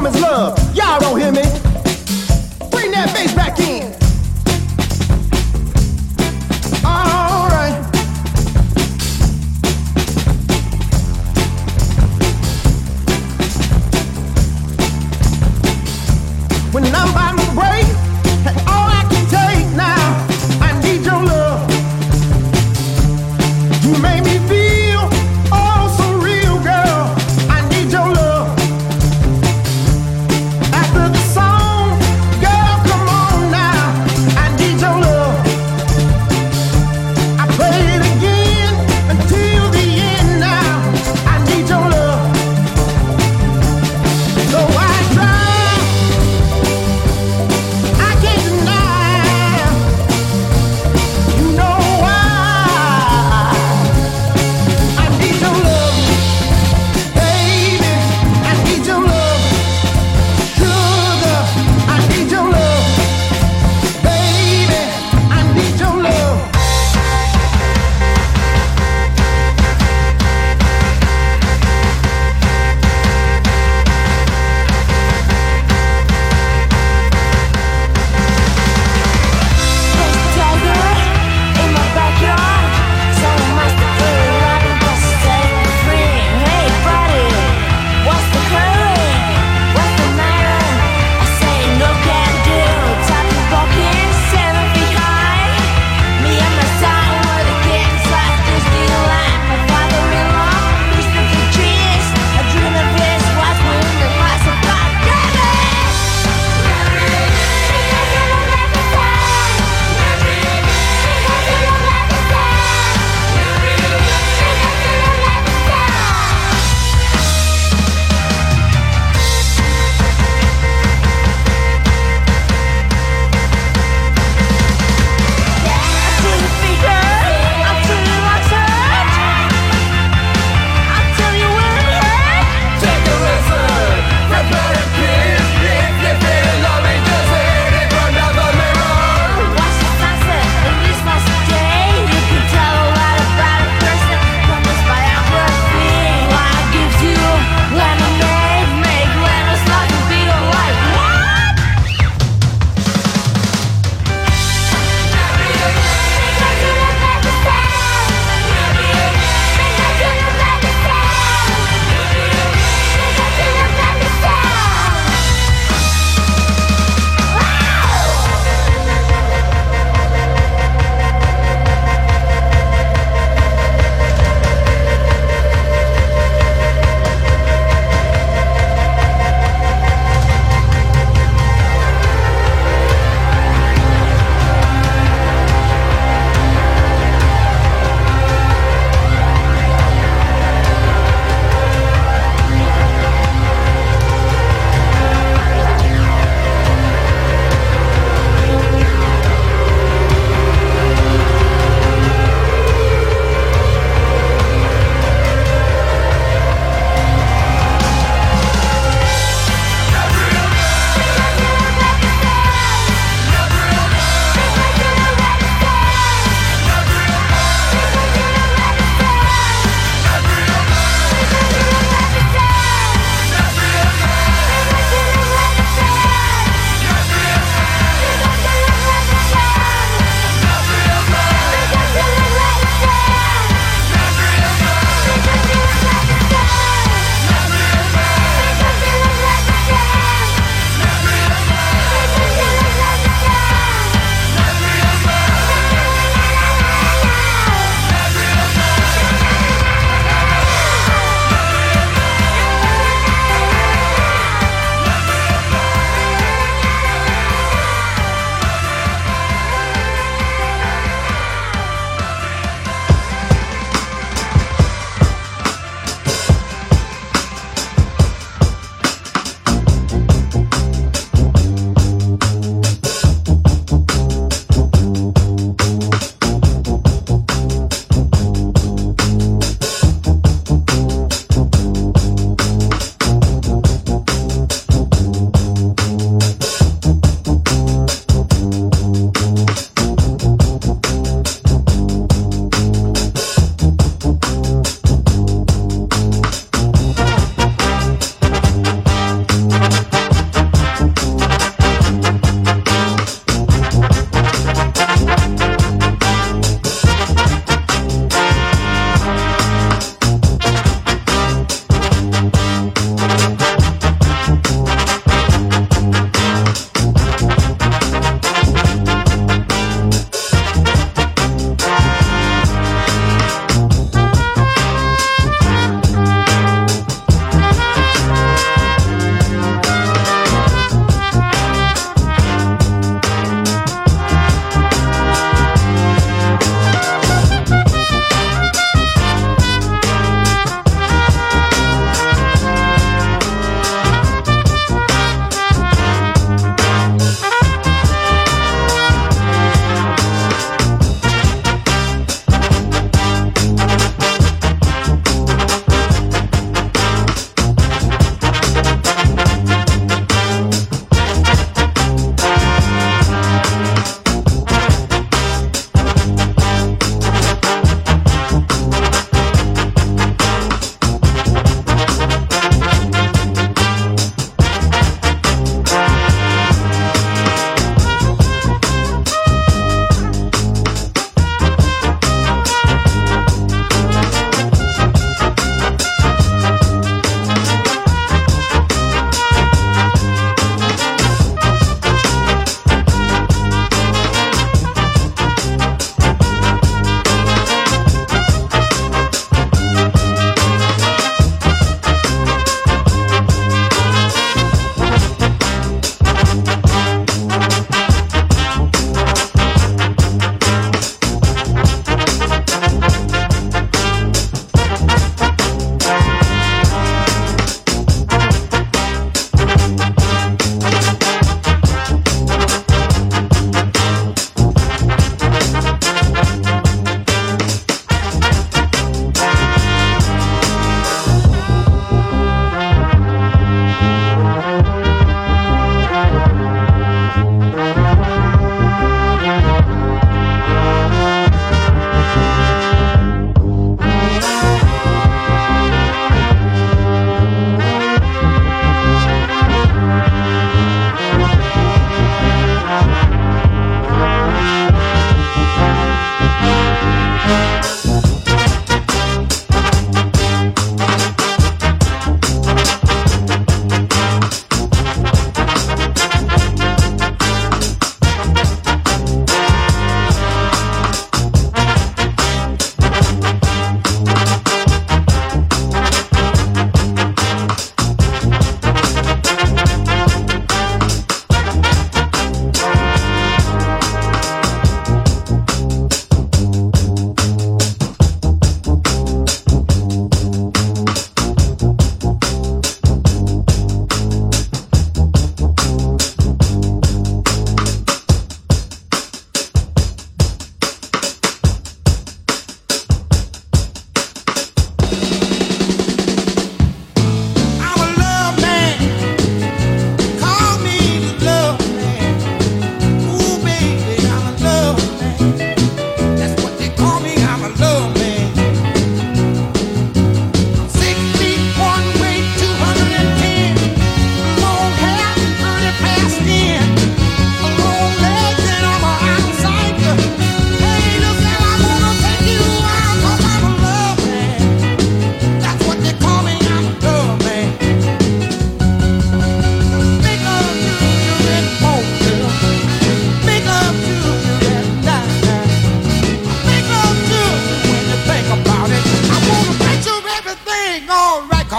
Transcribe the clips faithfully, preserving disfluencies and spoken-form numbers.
woman's love. Y'all don't hear me? Bring that bass back in. All right. When I'm about to break, that's all I can take now. I need your love. You make me feel oh so real, girl. I need your love.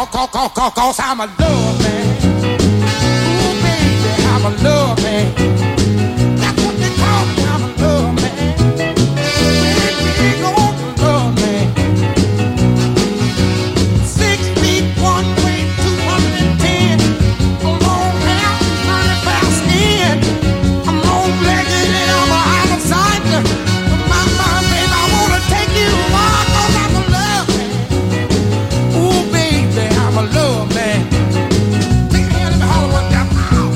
cause, cause, cause, cause I'm a love man. Ooh, baby, I'm a love man. That's what they call me, I'm a love man. Big old love man. Six feet, one way, two hundred ten. A long hair, running fast in. I'm long-legged and I'm a homicide. My, my, baby, I wanna take you on, cause I'm a love man. Ooh, baby, I'm a love man. Take a hand, let me holler one time.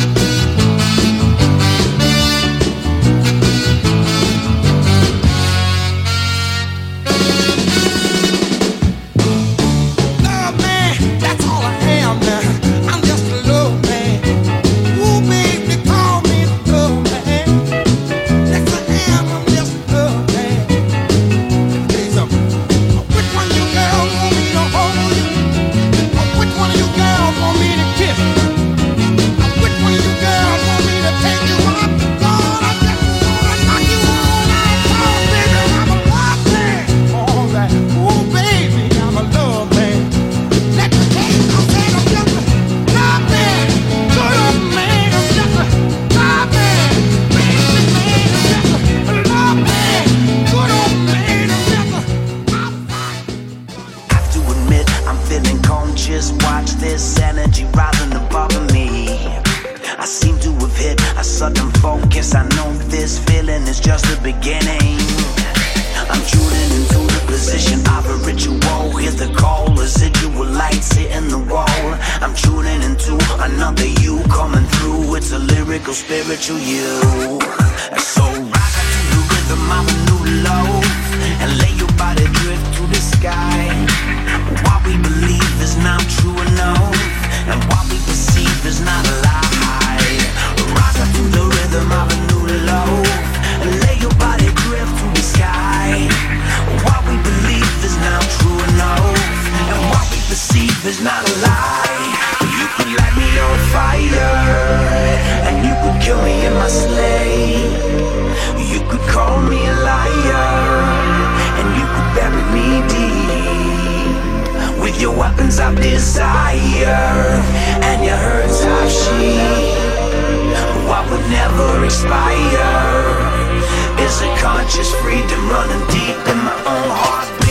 Love man, that's all I am now. I'm just a love man. Ooh, baby, call me the love man. Yes, I am, I'm just a love man. Tell you something. Which one of you girls want me to hold you? Which one of you girls want me to kiss you? Which one of you girls want me to take you up? Lord, I just wanna knock you all out. Oh, baby, I'm a love man. All right. Ooh, baby, I'm a love man. Let me tell you something, I'm just a love man. Good old man, I'm just a love man. Baby man, I'm just a love man. Good old man, I'm just a love man. Have to admit, I'm feeling conscious. Watch this energy rising above me. I seem to have hit a sudden focus. I know this feeling is just the beginning. I'm tuning into the position of a ritual. Hear the call, residual lights hitting the wall. I'm tuning into another you coming through. It's a lyrical, spiritual you. So rock to the rhythm of a new love and lay your body drift to the sky. What we believe is not true enough, and what we perceive is not a lie. Rock to the rhythm of a new love and lay your body drift to the sky. What we believe is not true enough, and what we perceive is not a lie. You could light me on fire, and you could kill me in my sleigh. You could call me a liar, and you could bury me deep with your weapons of desire and your hurts of sheep. What would never expire is a conscious freedom running deep in my own heartbeat.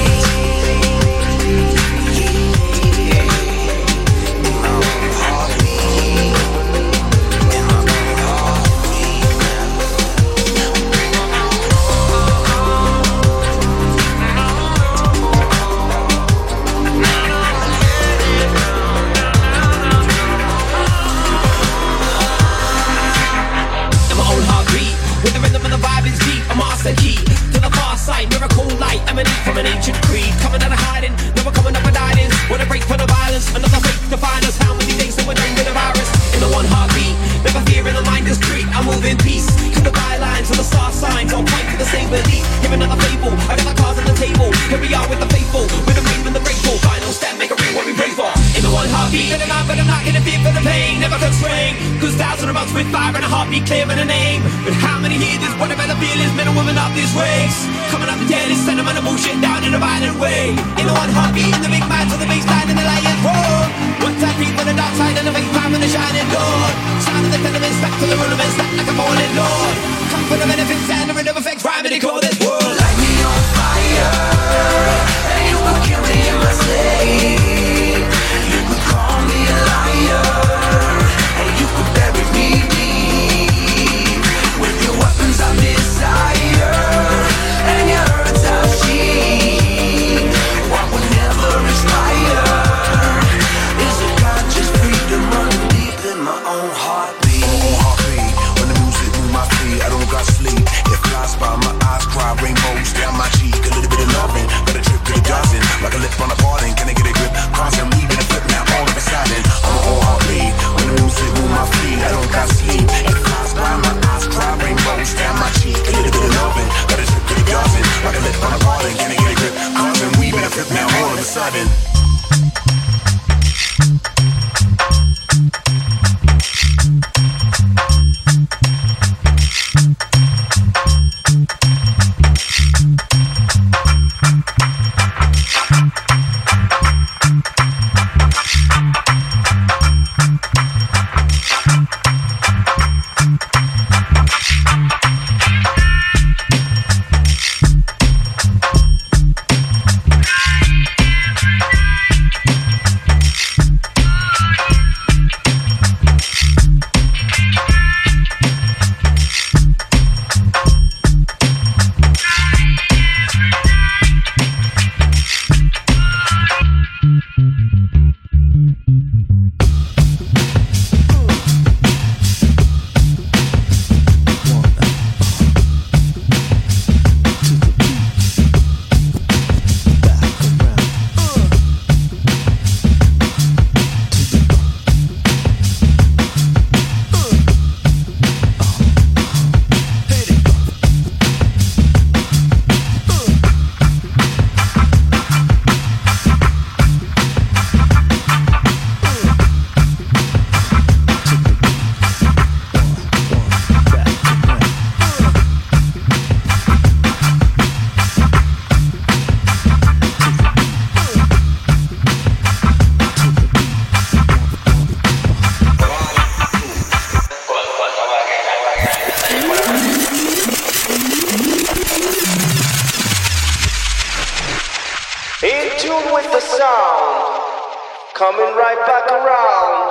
Emanate from an ancient creed, coming out of hiding, never coming up with hiding. Wanna break from the violence, another fate to find us. How many days till we're done with the virus? In the one heartbeat, never fear in the mind is street. I move in peace, to the bylines, to the star signs. I'll fight for the same belief. Give another fable, I got the cards on the table. Here we are with the faithful, with the brave and the grateful. Final step, make a ring what we pray for. In the one heartbeat, but I'm not, but I'm not gonna fear for the pain. Never constrain, cause thousands of months with fire and a heartbeat clear in a name. But how many hear this? What about the feelings? Men and women of this race, coming up the dead is sentiment and bullshit down in a violent way. In the one heartbeat, in the big man to the bass line and the lion's roar. One time beat for the dark side and the fake time and the shining dawn. Sound of the tenements, back to the rudiments, back like a fallen lord. Come for the benefits and the rhythm effects, rhyming and call this world. Light me on fire, and you will kill me in my sleep. You could call me a liar, and you could bury me deep with your weapons of desire and your hurts of sheep. What would never expire is a conscious freedom running deep in my own heartbeat. Own heartbeat, when the music move my feet, I don't got sleep. It flies by, my eyes cry, rainbows down my cheek. A little bit of loving, but a trip to the dozen. Like a lip on a pardon, can I get a grip? Constant leaving a flip, now all of a sudden I'm a whole heartbeat, when the music move my feet, I don't got sleep. It flies by, my eyes cry, rainbows down my cheek. A little bit of loving, but a trip to the dozen. Like a lip on a pardon, can I get a grip? Constant weaving a flip, now all of a sudden. Coming right back around.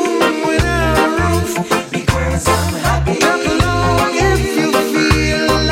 If you feel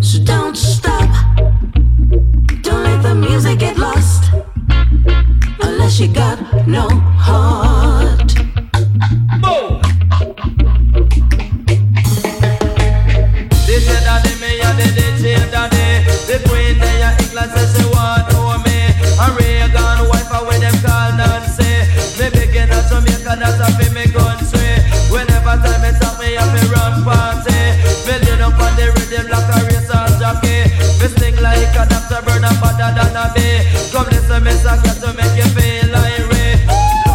So don't stop. Don't let the music get lost. Unless you got no heart. Boom! This is daddy, me and the D J daddy. The queen there in England says she want to know me. And Reagan wife her when them call Nancy. Me begin at Jamaica, that's a fi me country. Whenever time me talk, me have me run party. Me lean up on the rhythm like a racehorse jockey. Me sing like a doctor, burn up better than a bee. Come listen, me song to make you feel like Ray.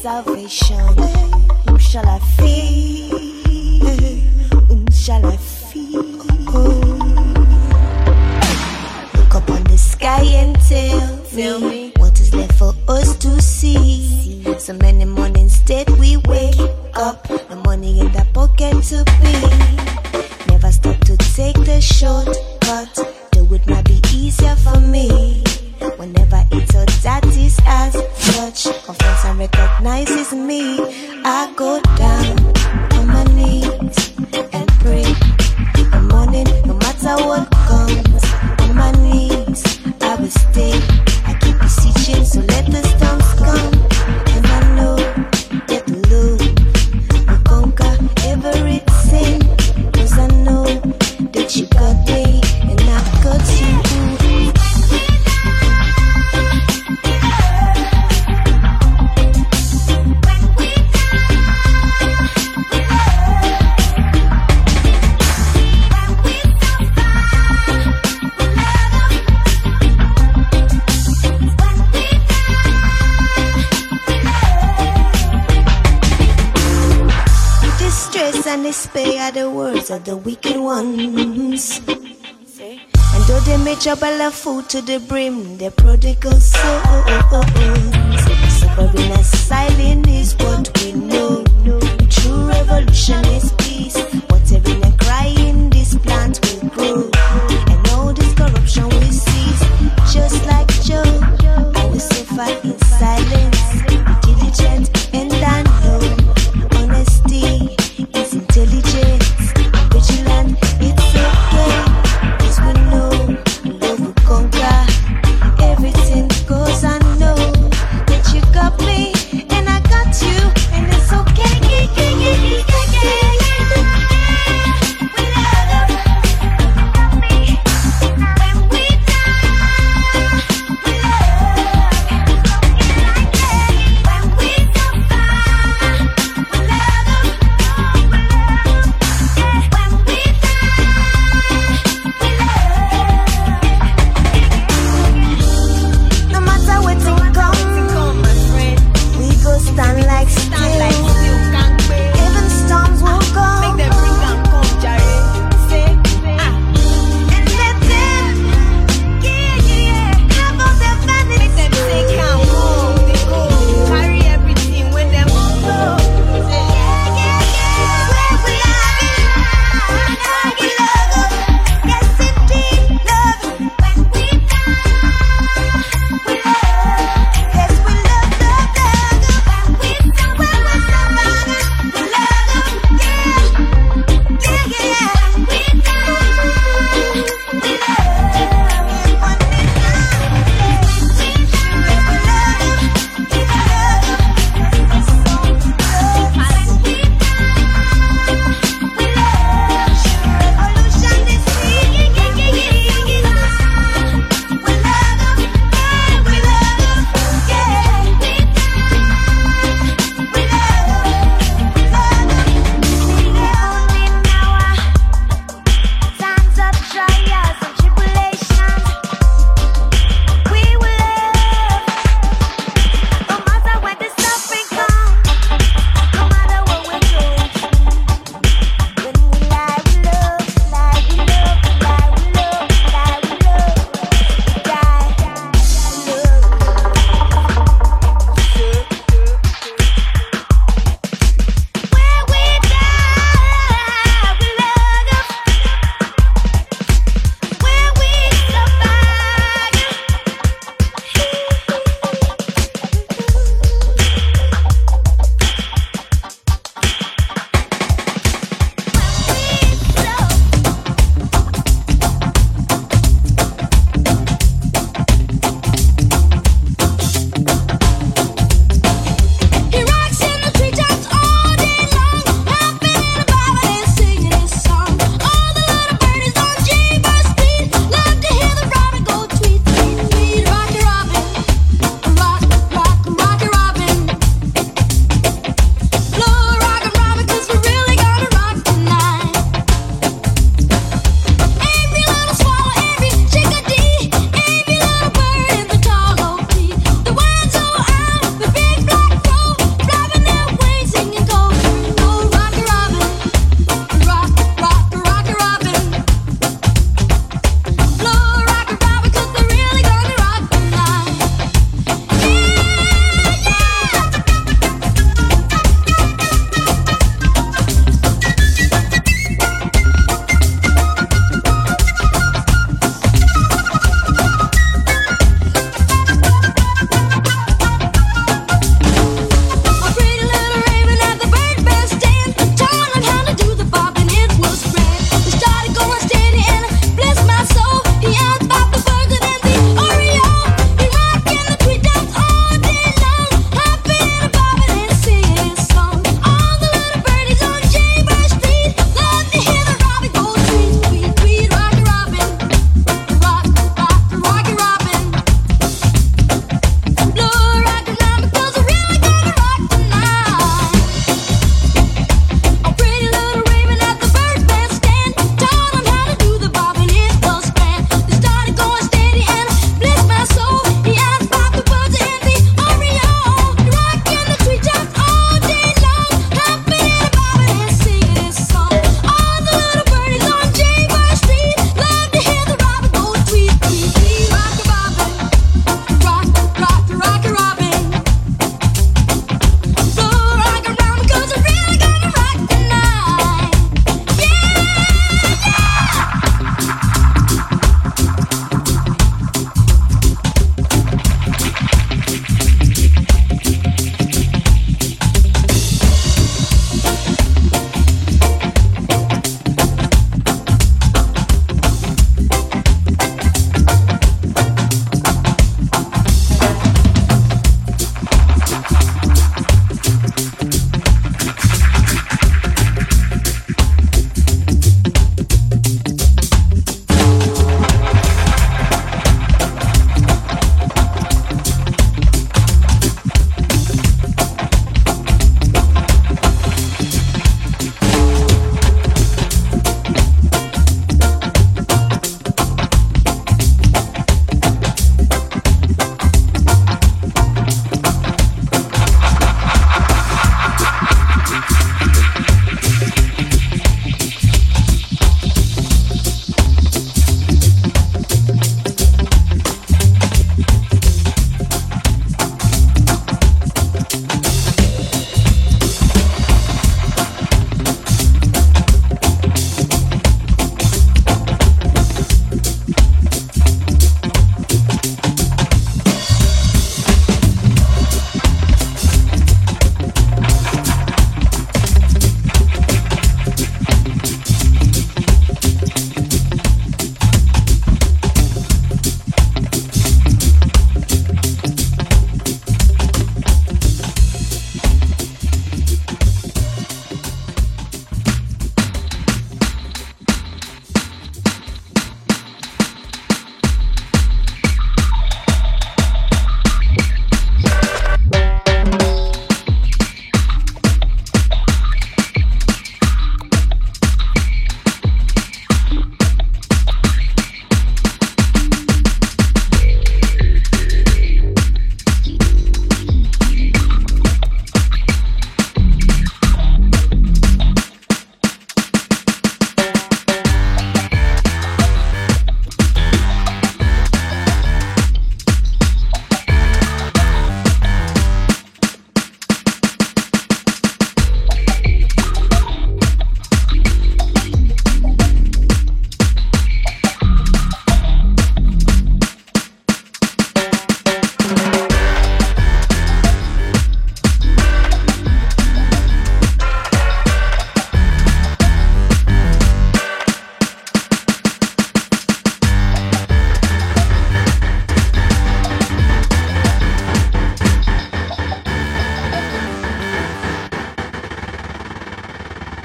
salvation. Whom shall I fear? Whom shall I fear? Look up on the sky and tell, tell me what is left for us to see. So many mornings that we wake up, the money in the pocket to be. Never stop to take the shortcut, though it might be easier for me. Whenever it's a that is as such, confess and recognizes me. I go down on my knees and pray. The morning, no matter what comes, on my knees I will stay. I keep beseeching, so let the storms come. And I know that the Lord will conquer everything. Cause I know that you got me and I got you. And despair are the words of the wicked ones. And though they may trouble of food to the brim, they're prodigal souls. Suffering asylum is what we know. True revolution is peace. Whatever and crying, this plant will grow. And all this corruption will cease. Just like Job, I will suffer in silence. Be diligent and I know honesty is intelligence, vigilant, it's okay. Cause we know love will conquer everything. Cause I know that you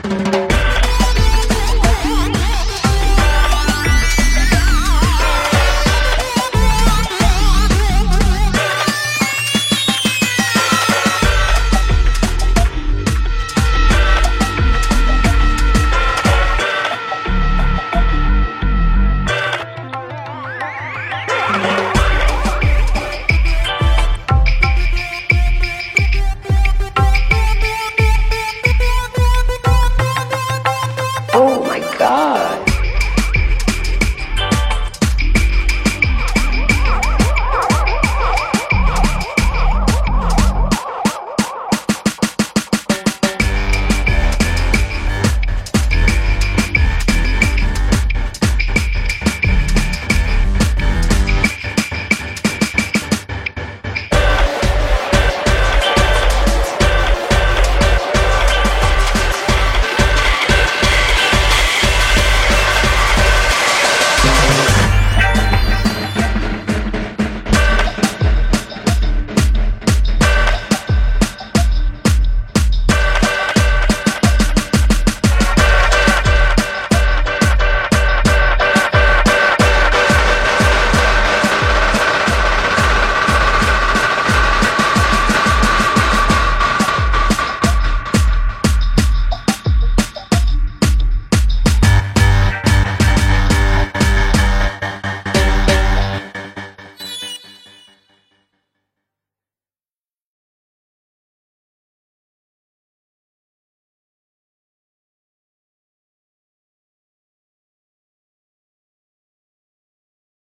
Thank you.